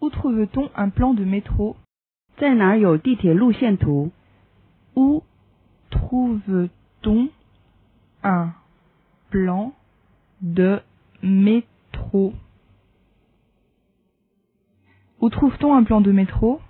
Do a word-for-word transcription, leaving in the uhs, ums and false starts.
Où trouve-t-on un plan de métro? 在哪儿有地铁路线图？ Où trouve-t-on un plan de métro? Où trouve-t-on un plan de métro?